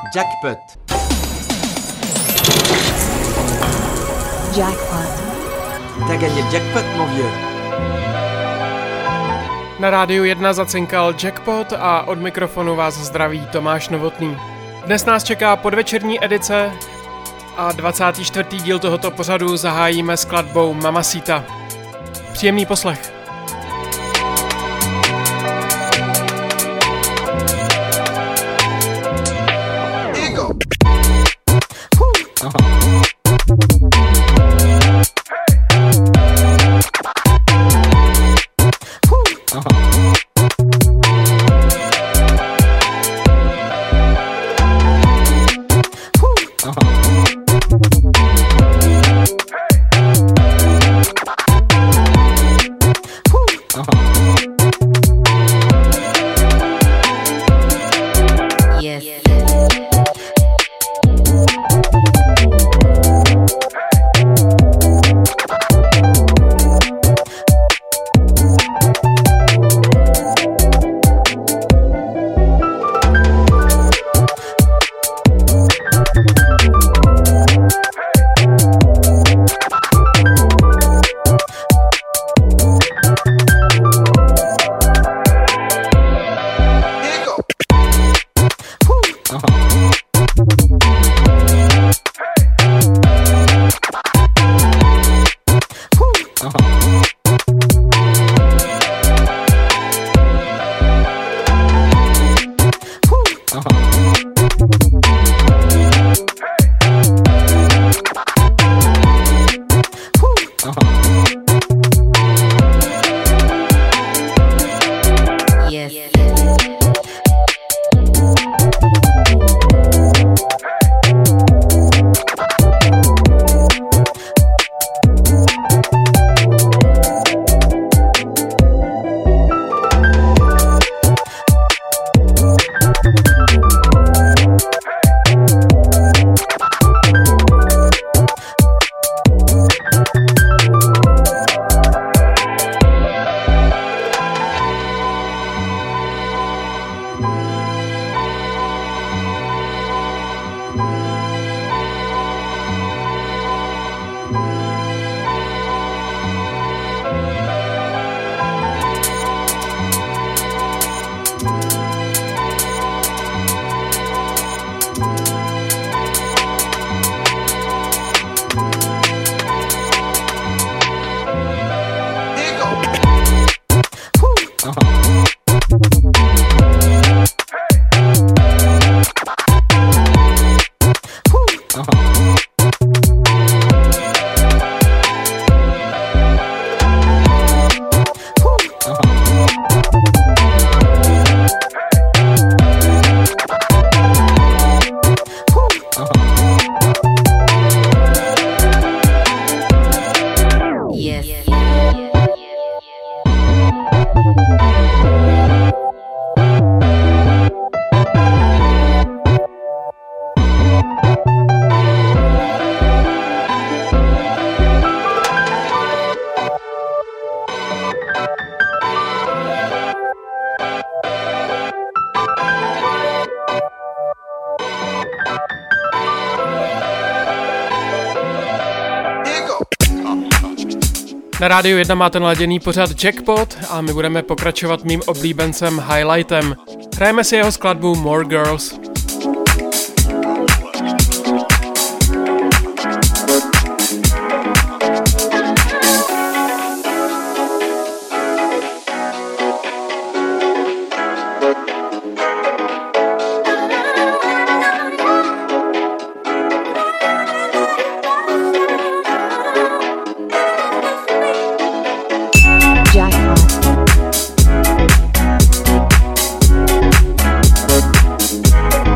Jackpot. Jackpot. T'as gagné le jackpot, mon vieux. Na Rádiu 1 zacinkal Jackpot a od mikrofonu vás zdraví Tomáš Novotný. Dnes nás čeká podvečerní edice a 24. díl tohoto pořadu zahájíme skladbou Mamacita. Příjemný poslech. Na Rádiu 1 máte naladěný pořad Jackpot a my budeme pokračovat mým oblíbencem Highlightem. Hrajeme si jeho skladbu More Girls. Jackpot.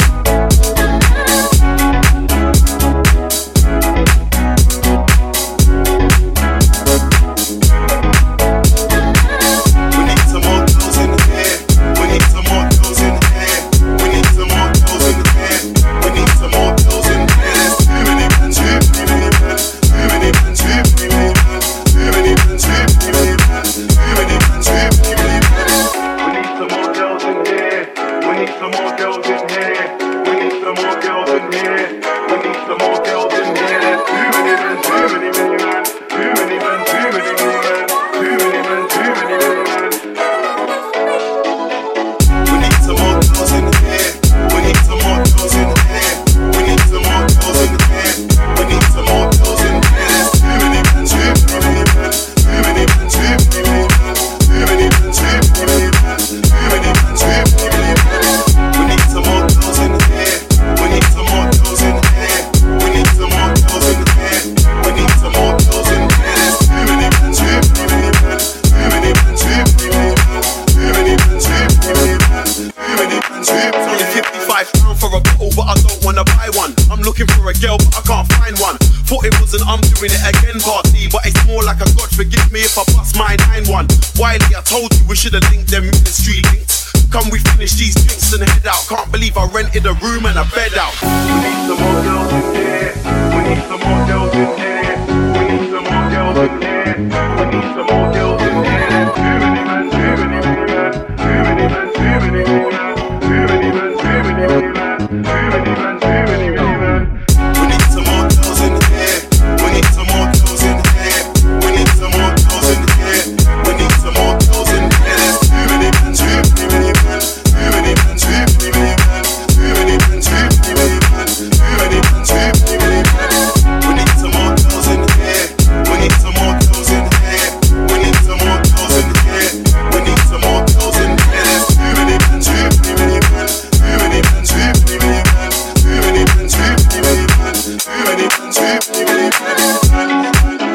Kylie, I told you we should have linked them ministry links. Come we finish these drinks and head out. Can't believe I rented a room and a bed out. We need some more girls in here. We need some more girls in here. We need some more girls in here. We need some more girls in here. Too many men, too many women. Too many men, too many women. Too many men, too many women. Too many men, too many women. We need some more girls in here. We need some more girls in here. We need some more girls in here. We need some more girls in here. There's too many men, too many men. Too many men, too many men. Too many men, too many men. Too many men, too many men. We need some more girls in here. We need some more girls in here. We need some more girls in here. We need some more girls in here. There's too many men, too many men. Too many men, too many men. Too many men, too many men. Too many men, too many men.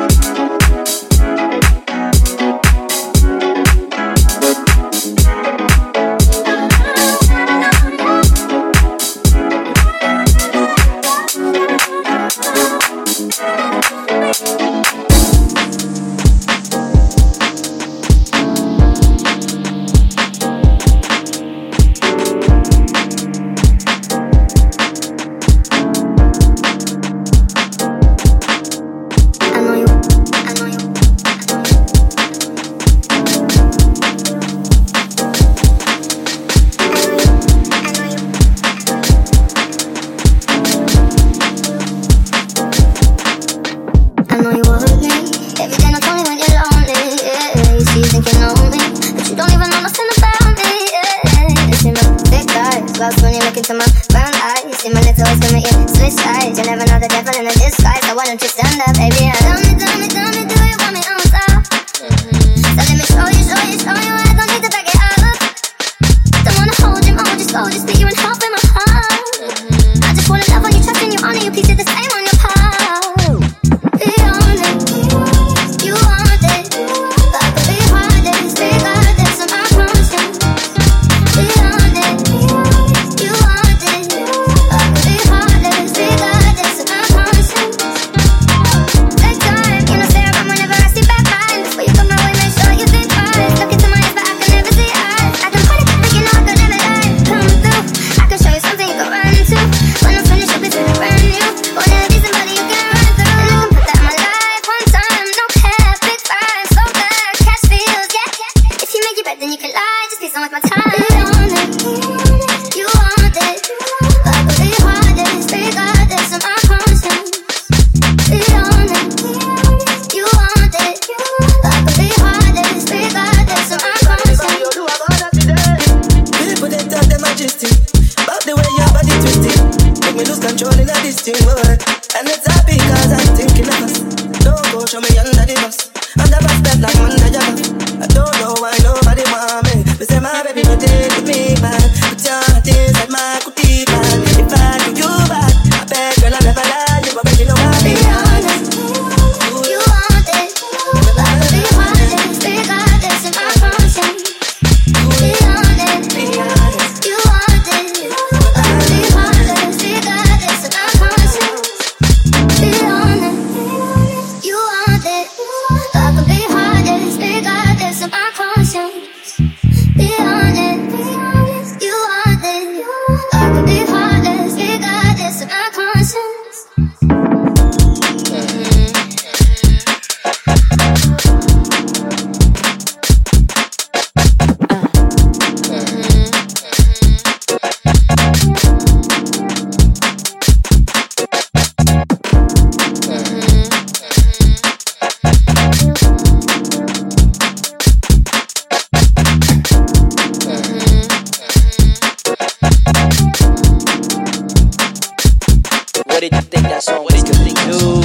What did you think that song was gonna do?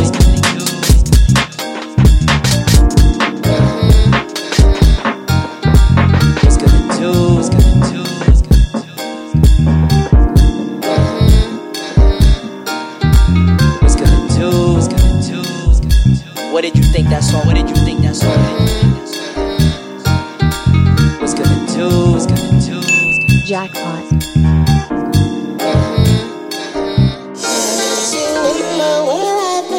What's gonna do? What's gonna do? What's gonna do? What's gonna do? What did you think that song? What did you think that song? What's gonna do? What's gonna do? Jackpot.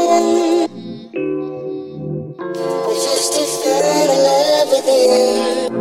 Just to find a love within.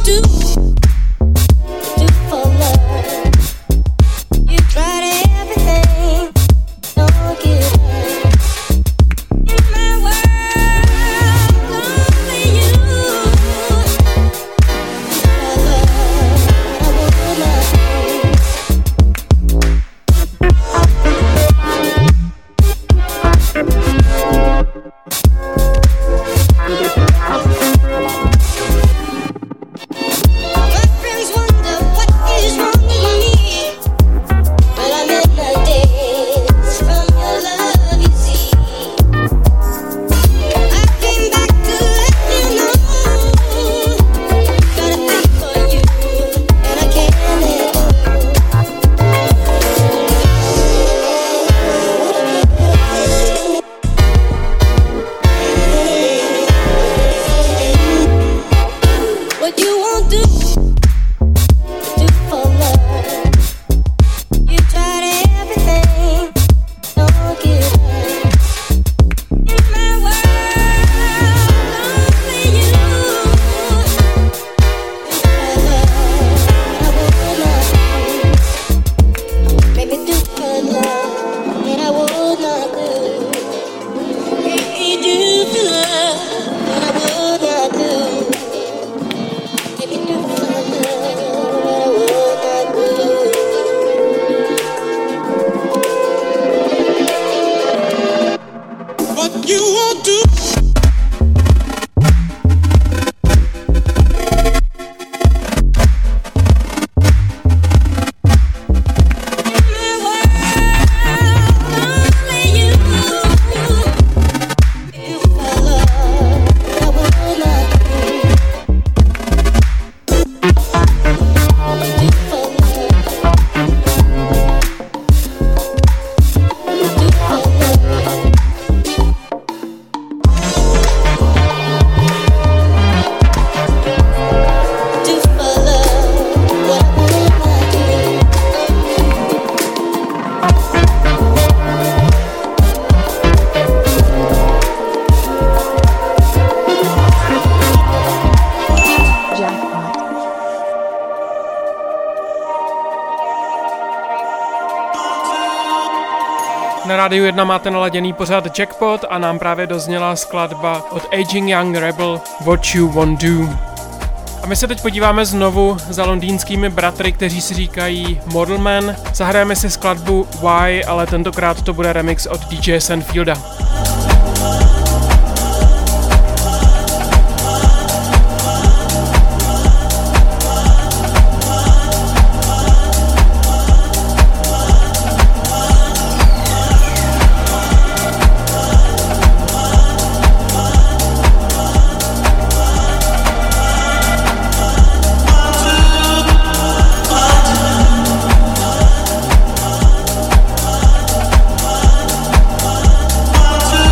Na Rádiu 1 máte naladěný pořad Jackpot a nám právě dozněla skladba od Aging Young Rebel What You Won't Do. A my se teď podíváme znovu za londýnskými bratry, kteří si říkají Model Man. Zahrajeme si skladbu Why, ale tentokrát to bude remix od DJ Sanfielda. to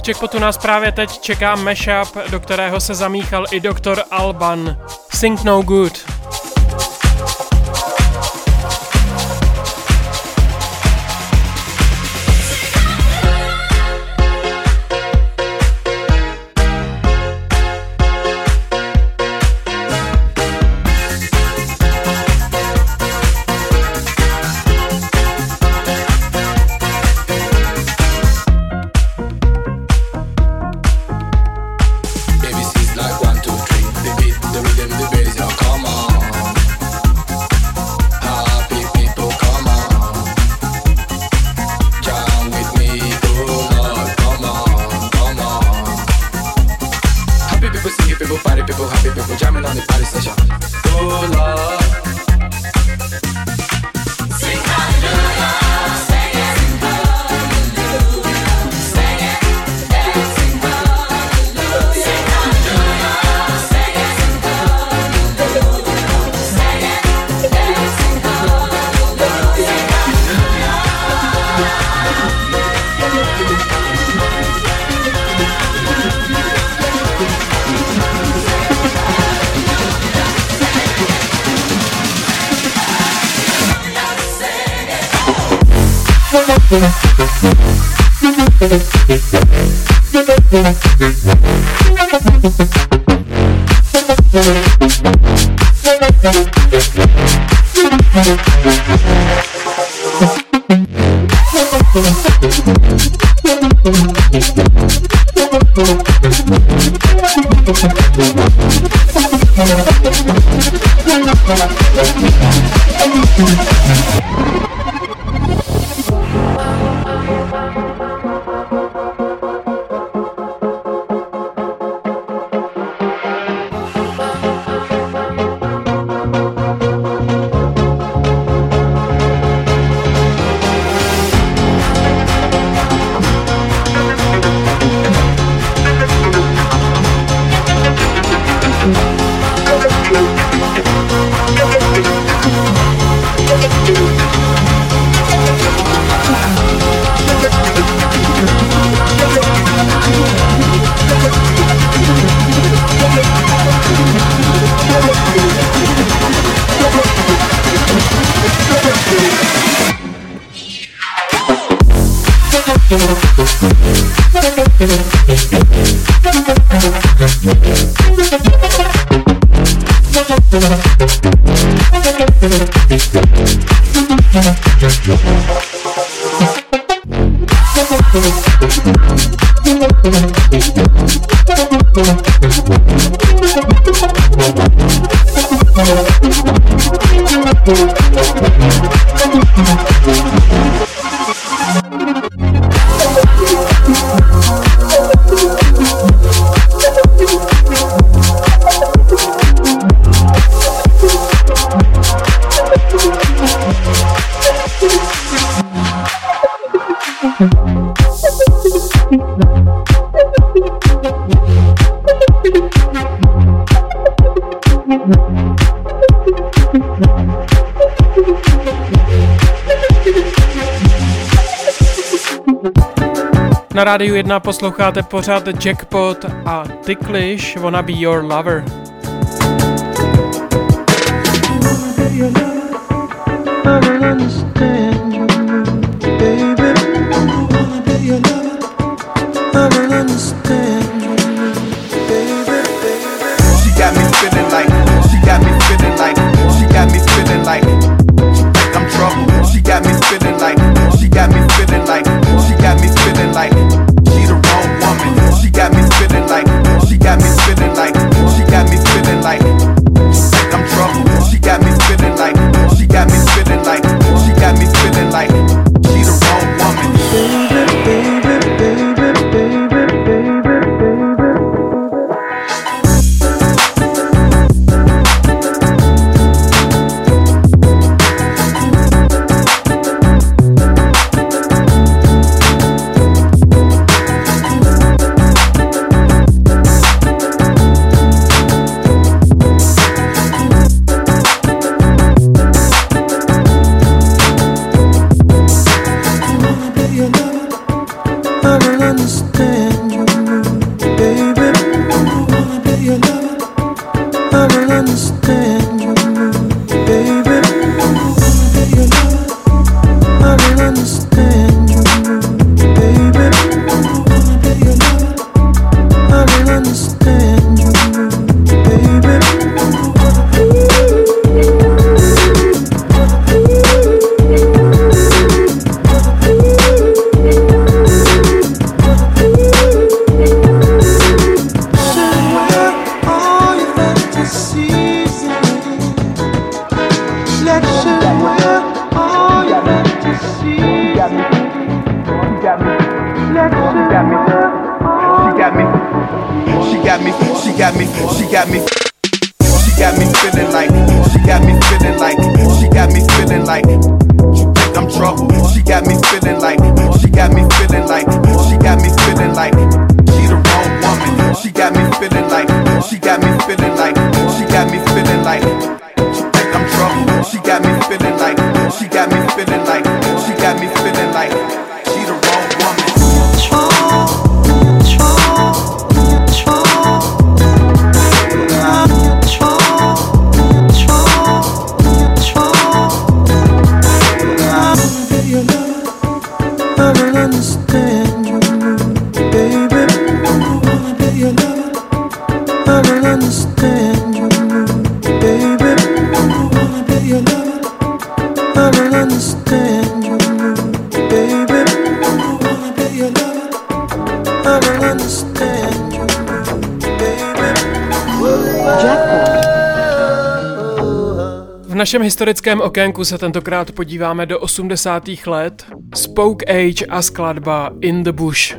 Jackpotu nás právě teď čeká mashup, do kterého se zamíchal i Dr. Alban. Think No Good. Na Rádiu 1 posloucháte pořad Jackpot a Ticklish Wanna Be Your Lover. understand you, baby. I will understand you, baby. I will understand you, baby. V našem historickém okénku se tentokrát podíváme do 80. let. Spoke Age a skladba In the Bush.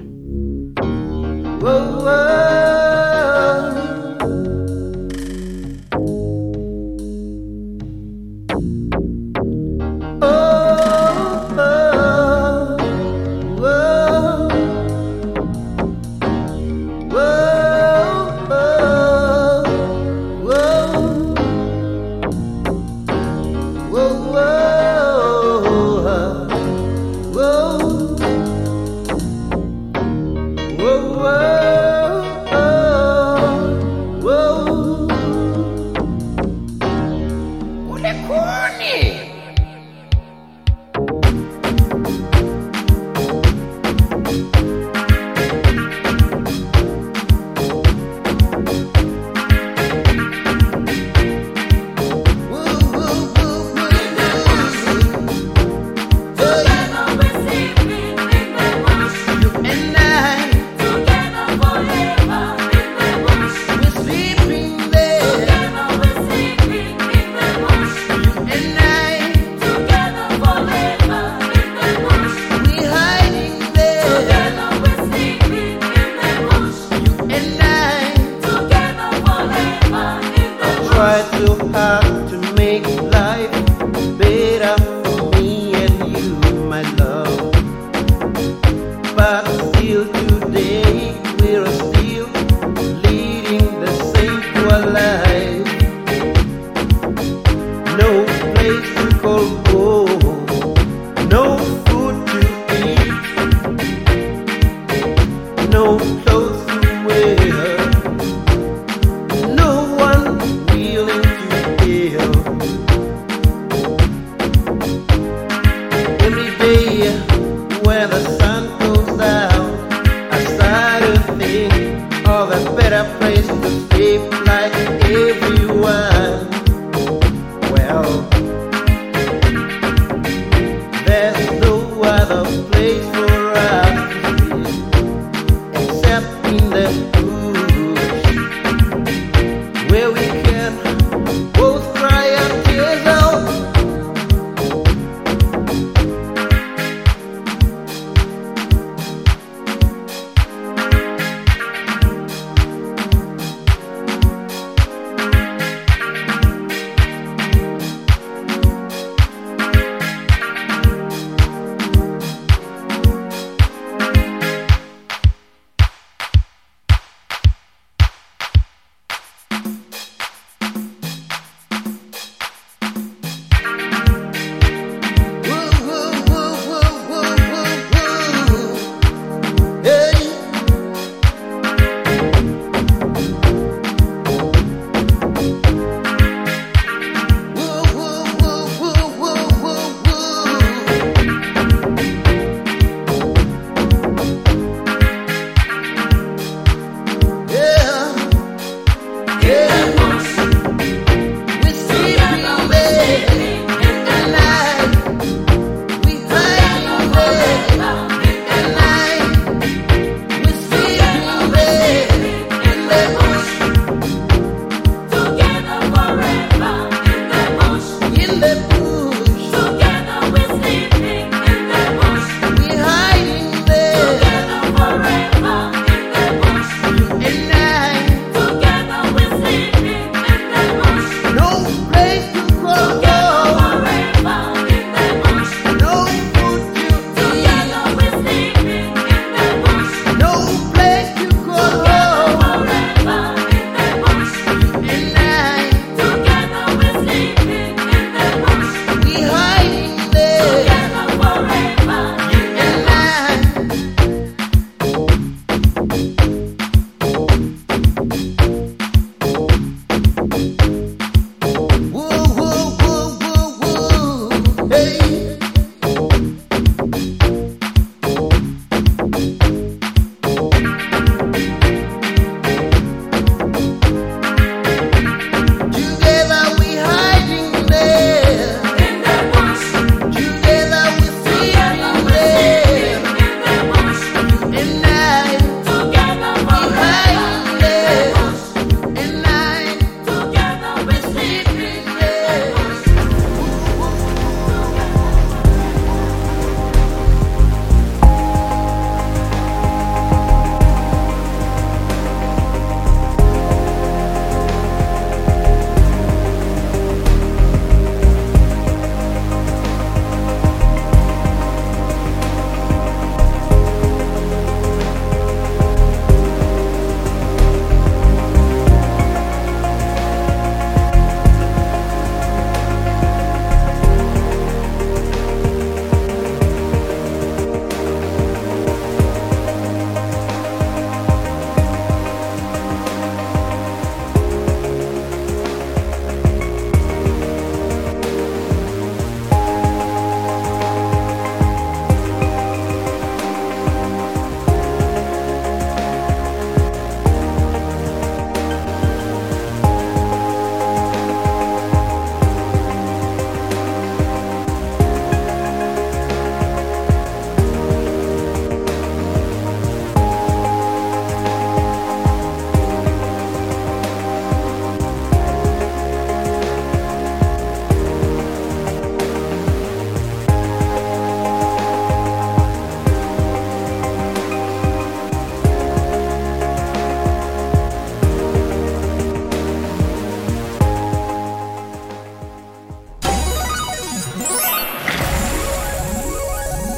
No clothes to wear, no one willing to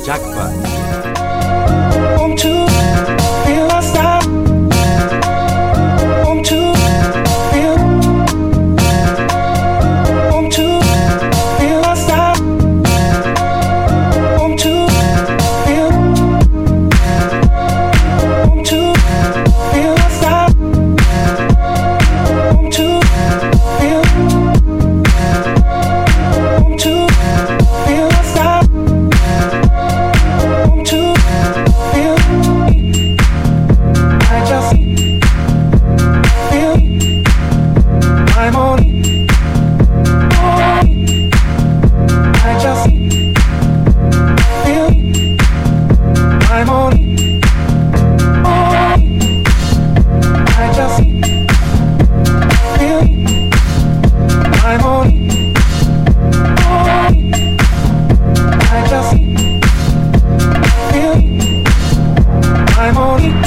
Jackpot. Want to feel outside. Want to feel. Want to feel outside. Want to feel. Want to feel outside. Want to feel. Want to feel outside. Want to feel. I just feel. I'm on it. I just feel. I'm on it. I just feel. I'm on it. I just feel. I'm on it.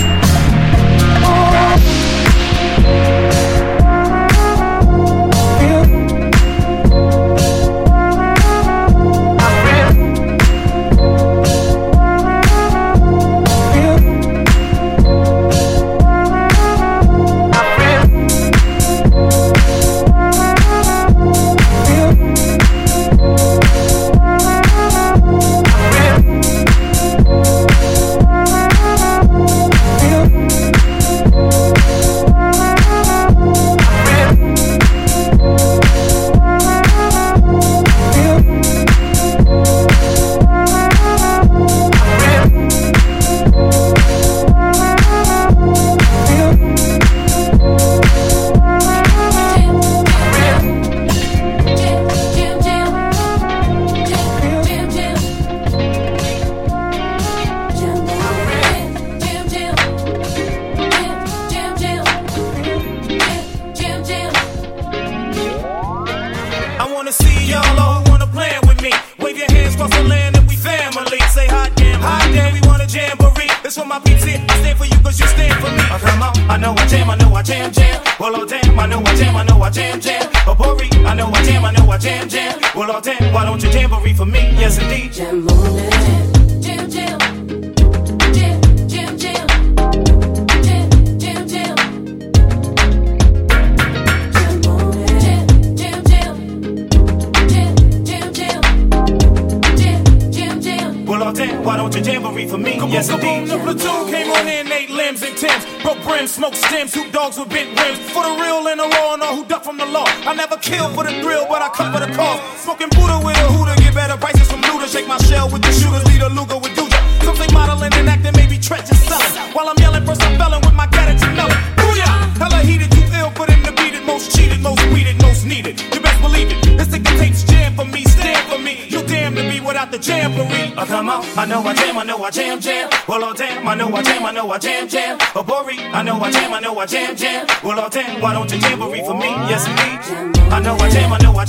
Why don't you jamboree for me? Yes, indeed. I know I jam. Well,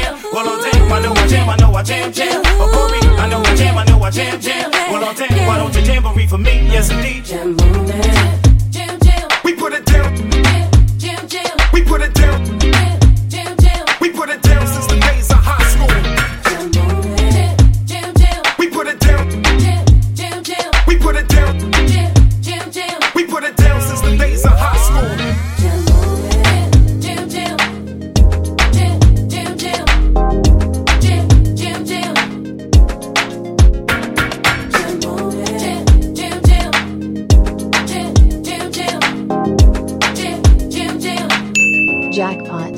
oh damn, I know I jam. Oh, Corey, I know I jam. Well, oh damn, why don't you jamboree for me? Yes, indeed. We put it down. We put it down. We put it down since the days of high school. We put it down. We put it down. We put it down since the days of high school. Jackpot.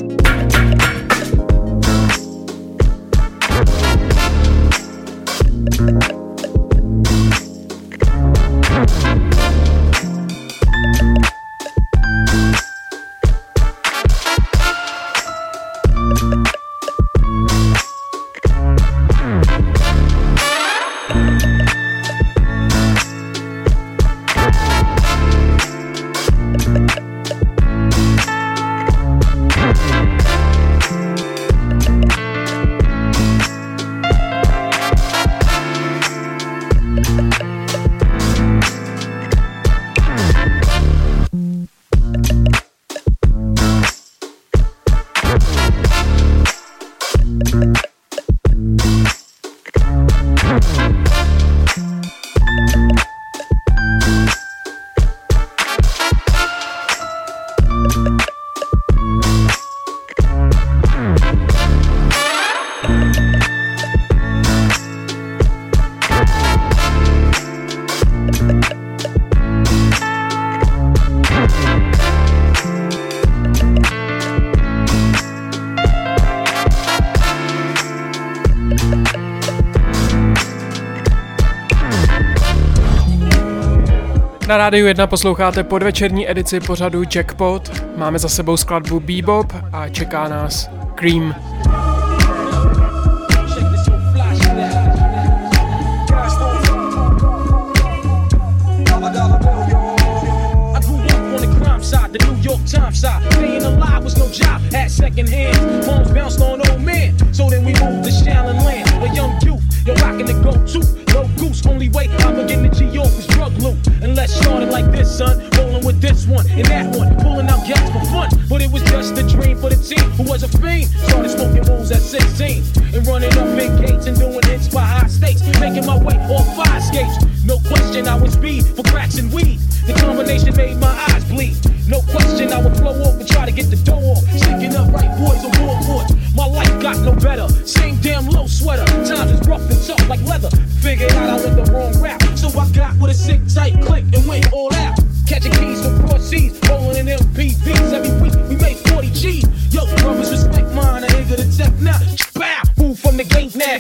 Na Rádiu 1 posloucháte podvečerní edici pořadu Jackpot. Máme za sebou skladbu Bebop a čeká nás Cream. The New York Times side, staying alive was no job, had second hands, moms bounced on old men, so then we moved to Shaolin Land, a young youth, you're rocking the go-to, no goose, only way I'm getting the G.O. was drug loot, and let's start it like this, son, rolling with this one, and that one, pulling out gas for fun, but it was just a dream for the team, who was a fiend, started smoking rules at 16, and running up big gates and doing hits by high stakes, making my way off fire escapes, no question I was speed for cracks and weed, the combination made my eyes bleed. No question, I would flow off and try to get the dough off. Sticking up right boys on board. My life got no better. Same damn low sweater. Times is rough and tough like leather. Figured out I went the wrong route. So I got with a sick tight click and went all out. Catching keys from broad seas, rolling in MPVs. Every week we made 40 G's. Yo, brothers respect mine. I ain't gonna tech now. Bow, move from the gate now.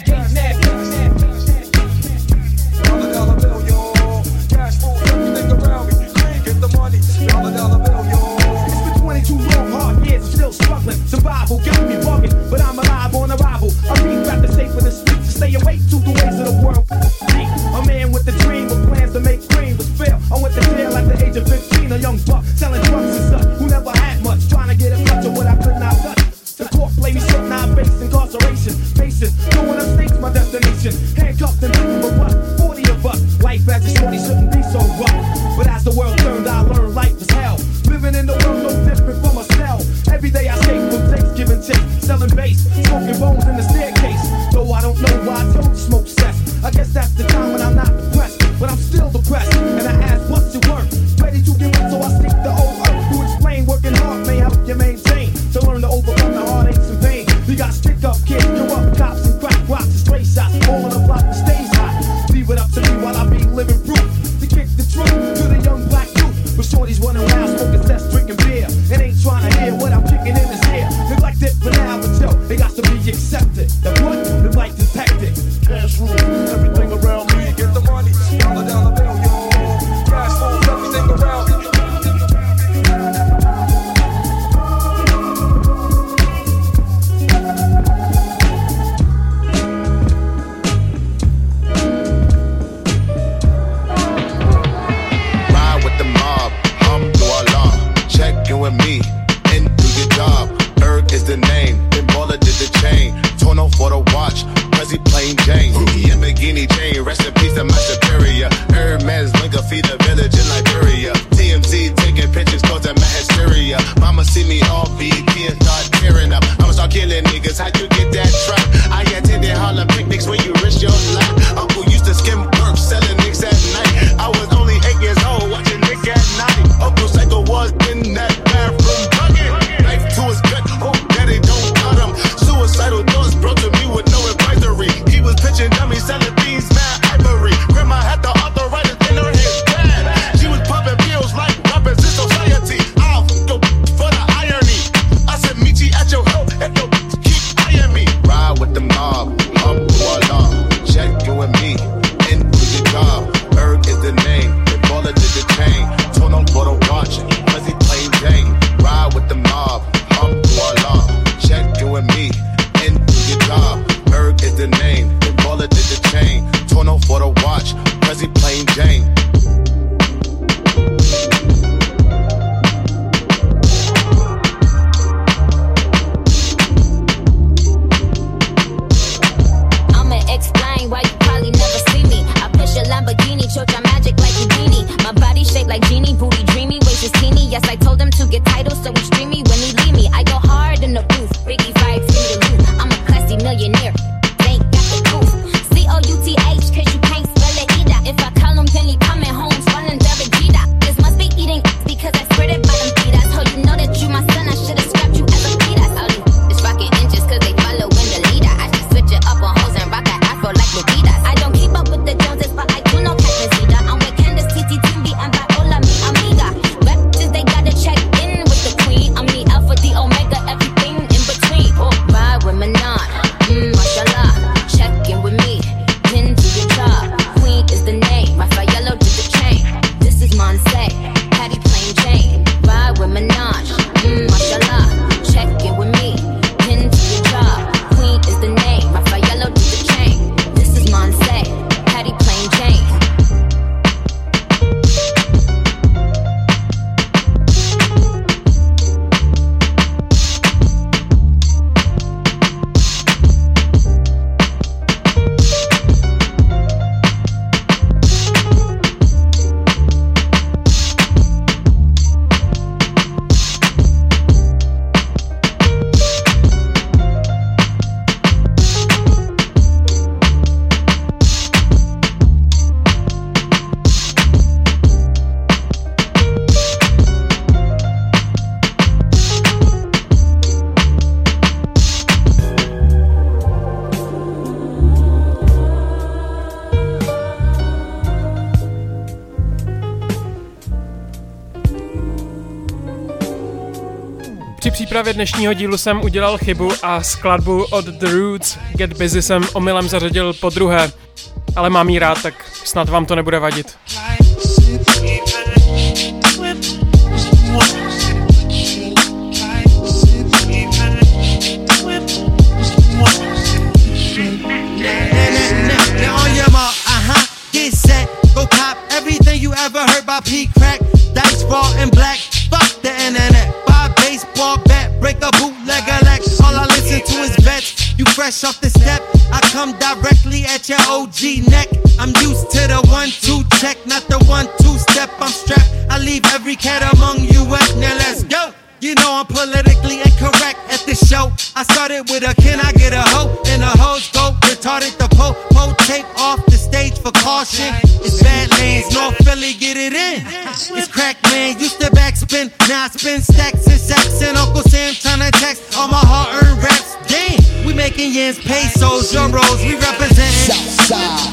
Dollar bill, yo. Cash flow, everything around me. Get the money. Dollar bill, yo. It's been 22 long, hard years. I'm still struggling. Survival got me bugging, but I'm alive on arrival. I read back the safe for the street to stay awake to the ways of the world. A man with a dream, with plans to make cream was fail. I went to jail at the age of 15, a young buck selling drugs and such, who never had much, trying to get a touch of what I could not touch. The court played me short, now I face incarceration. Patient, going upstate's my destination. Handcuffed and beaten, but what? 40 of us. Life as a shorty shouldn't be so rough. But as the world turned, I learned life was hell. Living in the world no different from a cell. Every day I escape from Thanksgiving chicks, selling bass, smoking bones in the staircase. Though I don't know why I told smoke cess. I guess that's the time when I'm not depressed, but I'm still depressed. And I ask, what's it worth? Ready to give up, so I seek the old earth to explain. Working hard may help you maintain, to learn to overcome the heartaches and pain. We got stick up kids, corrupt cops and crack rocks and stray shots. All in the block that stays hot. Leave it up to me while I be living proof to kick the truth to the young black youth. But shorties running around smoking cess, drinking beer, and ain't trying to hear what I'm kicking in his ear. Neglected for now, but yo, they got to be accepted. The what? The life is hectic. Cash rule, everything around me. Get the money, dollar bill, yo. Cash flow, everything around me. Ride with the mob, Alhamdulillah. Check in with me and do your job. Erg is the name, then Baller did the chain. Tono for the watch, Prezi plain Jane. Lamborghini chain, rest in peace to my superior. Hermes Linker feed the village in Liberia. TMZ taking pictures causing my hysteria. Mama see me off BT and start tearing up. I'ma start killing niggas, how you get that trap? I attended Harlem picnics where you risk your life. Uncle used to skim work, selling nicks at night. I was only 8 years old, watching Nick at night. Uncle Psycho was in that bathroom bugging. Knife to his gut, hope daddy don't cut him. Suicidal thoughts brought to me with no advisory. He was pitching dummies, selling beans, mad ivory. Grandma had the arthritis in her head bad. She was popping pills like rappers in society. I'll go for the irony. I said, meet you at your help and don't keep eyeing me. přípravě dnešního dílu jsem udělal chybu a skladbu od The Roots Get Busy jsem omylem zařadil po druhé. Ale mám jí rád, tak snad vám to nebude vadit. Get set, go cop everything you ever heard by P. Crack, Dice Raw and Black, fuck the internet. Buy a baseball bat, break a bootleg elect. All I listen to is vets, you fresh off the step. I come directly at your OG neck. I'm used to the 1-2 check, not the 1-2 step. I'm strapped, I leave every cat among you wet. Now let's go. You know I'm politically incorrect at the show. I started with a can I get a hoe? And the hoes go retarded. The po tape off the stage for caution. It's bad lanes, North Philly, get it in. It's crack man, used to backspin. Now I spin stacks and sacks. And Uncle Sam tryna text all my hard-earned raps. Damn, we making yens, pesos, euros. We represent Southside.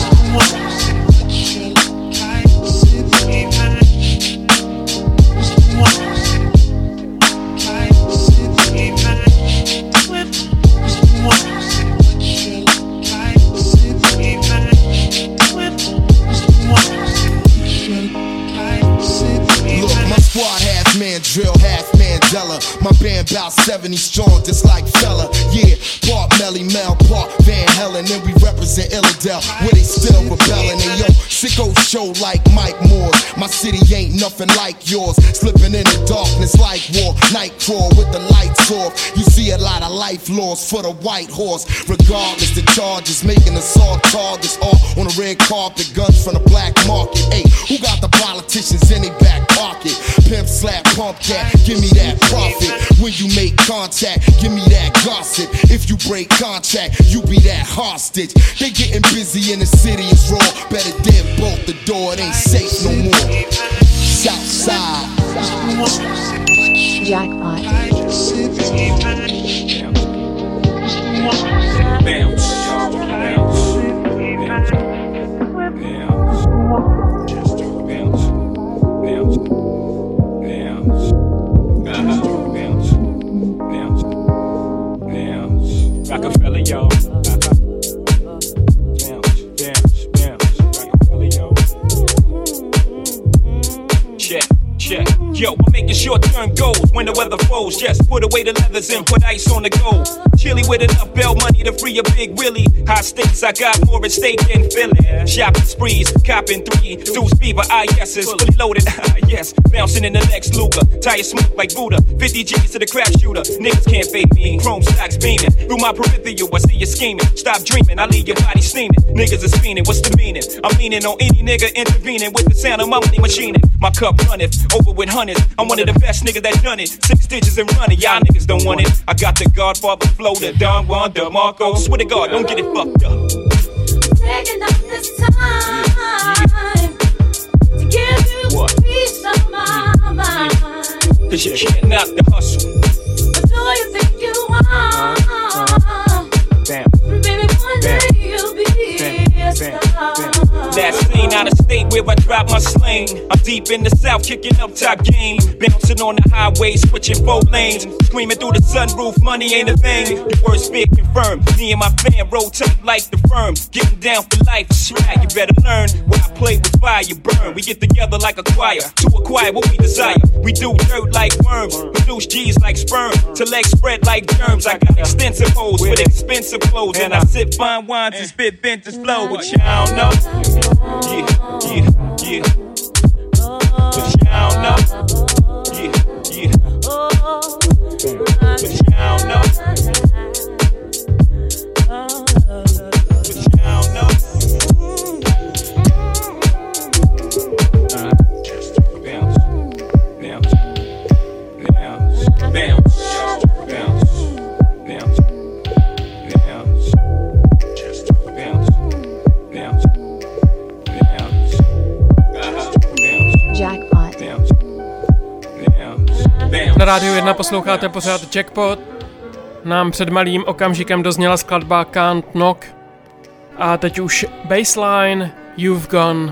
Man drill, half Mandela. My band bout 70 strong, just like fella. Yeah, part Melly Mel, part Van Helen. And we represent Illidale, where they still rebelling. And yo, sicko show like Mike Moore. My city ain't nothing like yours. Slipping in the darkness like war. Night crawl with the lights off. You see a lot of life lost for the white horse. Regardless, the charges making assault targets all on the red carpet. Guns from the black market. Hey, who got the politicians in their back pocket? Pimp slap, pump cat, give me that profit. When you make contact, give me that gossip. If you break contract, you be that hostage. They getting busy in the city, it's raw. Better dead bolt the door, it ain't safe no more. Southside. Jackpot. Bounce. Rockefeller, yo. Check. Yo, I'm making short-term goals when the weather froze. Just put away the leathers and put ice on the gold. Chilly with enough bail money to free a big Willie. High stakes, I got more at stake than Philly. Shopping sprees, copping 3 Deuce Beaver, IS's fully loaded. Yes, bouncing in the Lex Luger. Tire smoke like Buddha. 50 G's to the crap shooter. Niggas can't fake me. Chrome stocks beaming. Through my peripheral, I see you scheming. Stop dreaming, I leave your body steaming. Niggas are spinning, what's the meaning? I'm leaning on any nigga intervening with the sound of my money machining. My cup runneth over with hundreds. I'm one of the best niggas that done it. 6 digits and running, y'all niggas don't want it. I got the Godfather flow, the Don Juan, the Marco. Swear to God, don't get it fucked up. Taking up this time to give you what? Peace of my mind. Cause you can't knock the hustle. But do you think you are? Baby, one day you'll be a star. Last seen out of state where I drop my sling. I'm deep in the south, kicking up top game. Bouncing on the highway, switching 4 lanes. Screaming through the sunroof, money ain't a thing. The worst fear confirmed. Me and my fam roll tight like the firm. Getting down for life, swag, you better learn. When I play with fire, you burn. We get together like a choir to acquire what we desire. We do dirt like worms, produce G's like sperm. Till legs spread like germs. I got extensive hoes with expensive clothes. And I sip fine wines and spit vintage flow. But y'all know. Yeah. But y'all know. Yeah. But y'all know. But y'all know. Na Rádiu 1 posloucháte pořád Jackpot. Nám před malým okamžikem dozněla skladba Can't Knock. A teď už bassline You've Gone.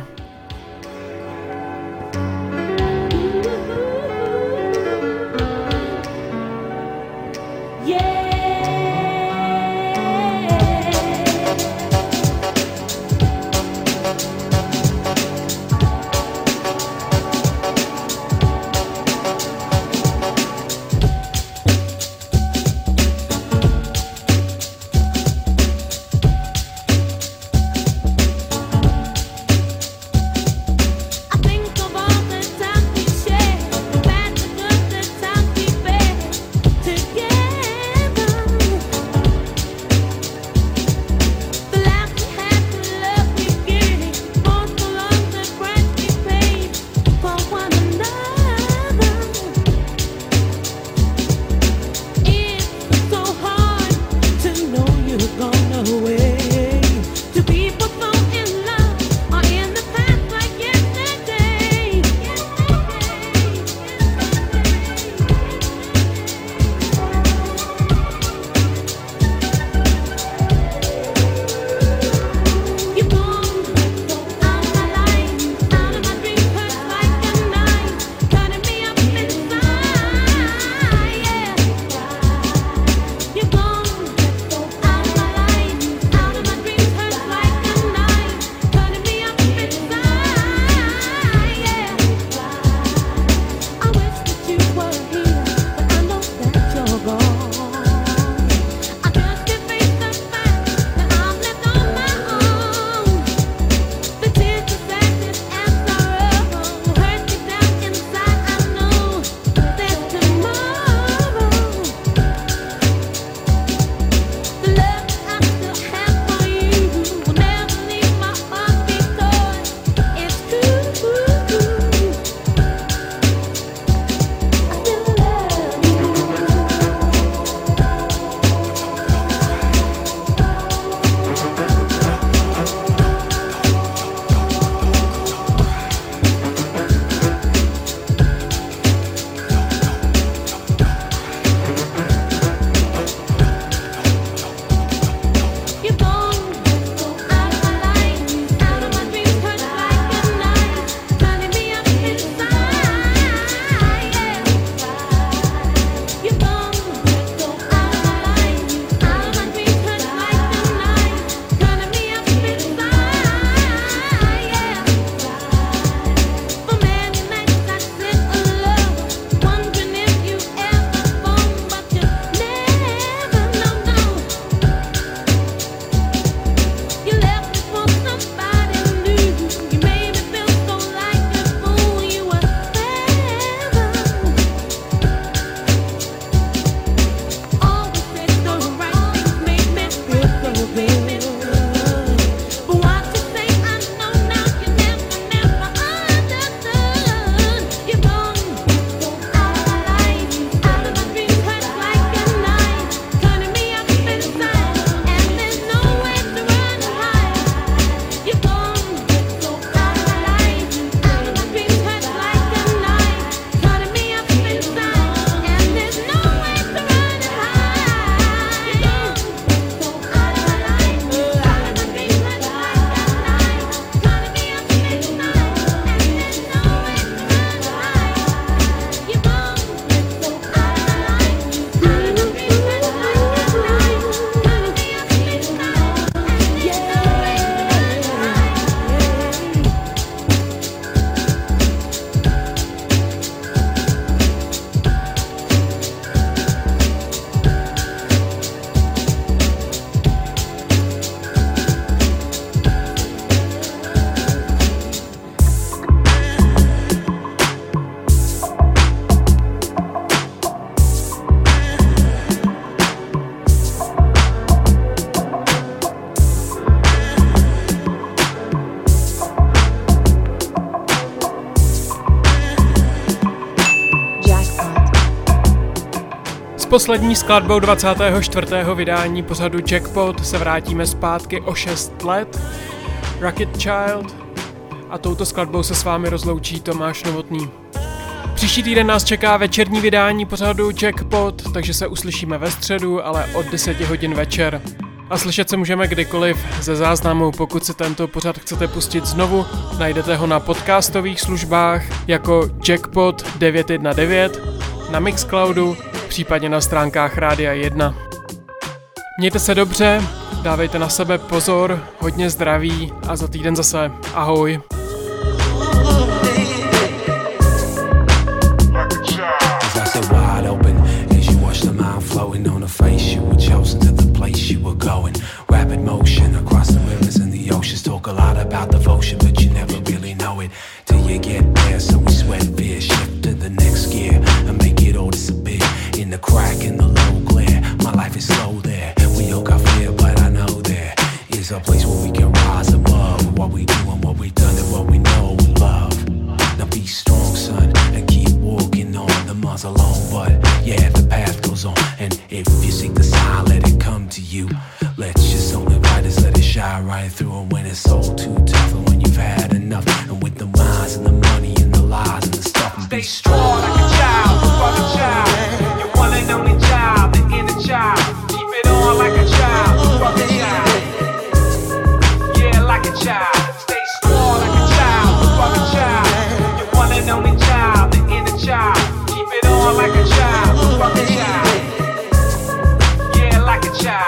Předposlední skladbou 24. vydání pořadu Jackpot se vrátíme zpátky o 6 let. Rocket Child. A touto skladbou se s vámi rozloučí Tomáš Novotný. Příští týden nás čeká večerní vydání pořadu Jackpot, takže se uslyšíme ve středu, ale od 10 hodin večer. A slyšet se můžeme kdykoliv ze záznamu. Pokud si tento pořad chcete pustit znovu, najdete ho na podcastových službách jako Jackpot 919, na Mixcloudu, případně na stránkách Rádia 1. Mějte se dobře, dávejte na sebe pozor, hodně zdraví a za týden zase ahoj. Floating on her face, you were chosen to the place you were going. Rapid motion across the rivers and the oceans. Talk a lot about devotion, but you never really know it till you get there. So we sweat fear, shift to the next gear and make it all disappear in the crack in the low glare. My life is slow there. We all got fear, but I know there is a place where we can rise above what we do and what we've done and what we know we love. Now be strong, son, and keep walking on. The miles alone, but yeah, the path goes on. And if you seek the sign, let it come to you. Let's just only write it, let it shine right through. And when it's all too tough, and when you've had enough, and with the minds and the money and the lies and the stuff, and stay strong like a child, fuck a child. Your one and only child, the inner child. Keep it on like a child, fuck a child. Yeah, like a child. Stay strong like a child, fuck a child. Your one and only child, the inner child. Keep it on like a child, fuck a child. Like a child.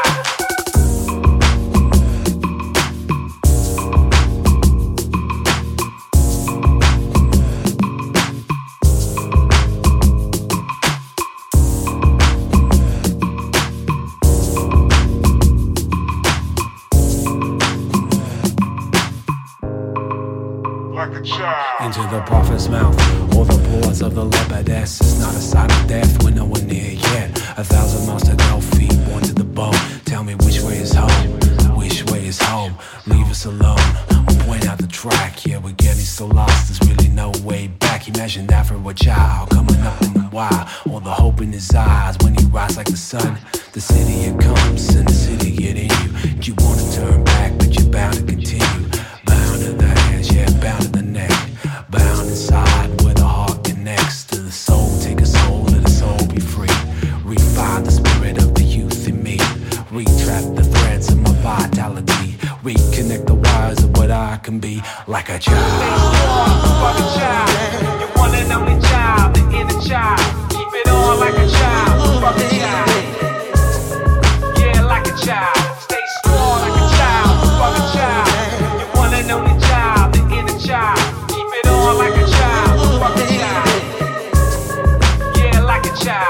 Into the prophet's mouth, or the pores of the leopardess. It's not a sign of death, we're nowhere near yet. 1,000 miles to go, feet worn to the bone. Tell me which way is home, which way is home. Leave us alone, we'll point out the track. Yeah, we're getting so lost, there's really no way back. Imagine that for a child, coming up in the wild. All the hope in his eyes when he rises like the sun. The city it comes, and the city get in you. You wanna turn back, but you're bound to continue. Bound to the hands, yeah, bound to the neck. Bound inside where the heart connects to the soul. Take a soul, let the soul be free. Refine the spirit of the youth in me. Retrap the threads of my vitality. Reconnect the wires of what I can be. Like a child. Stay strong, fuck a child. Your one and only child, the inner child. Keep it on like a child, fuck a child. Yeah, like a child. Stay strong like a child, fuck a child. Your one and only child, the inner child. Keep it on like a child, fuck a child. Yeah, like a child.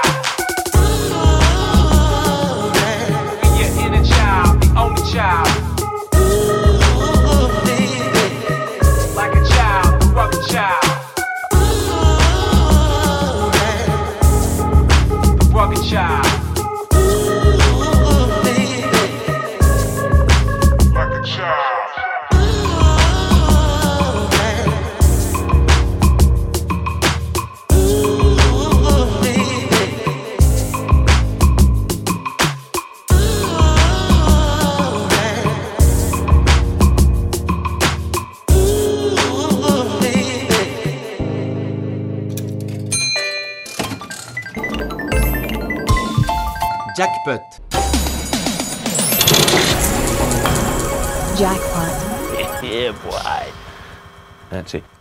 Be your inner child, the only child. Like a child, fuck a child. Rugged child. Like a child. Jackpot. Jackpot. Yeah, boy. That's it.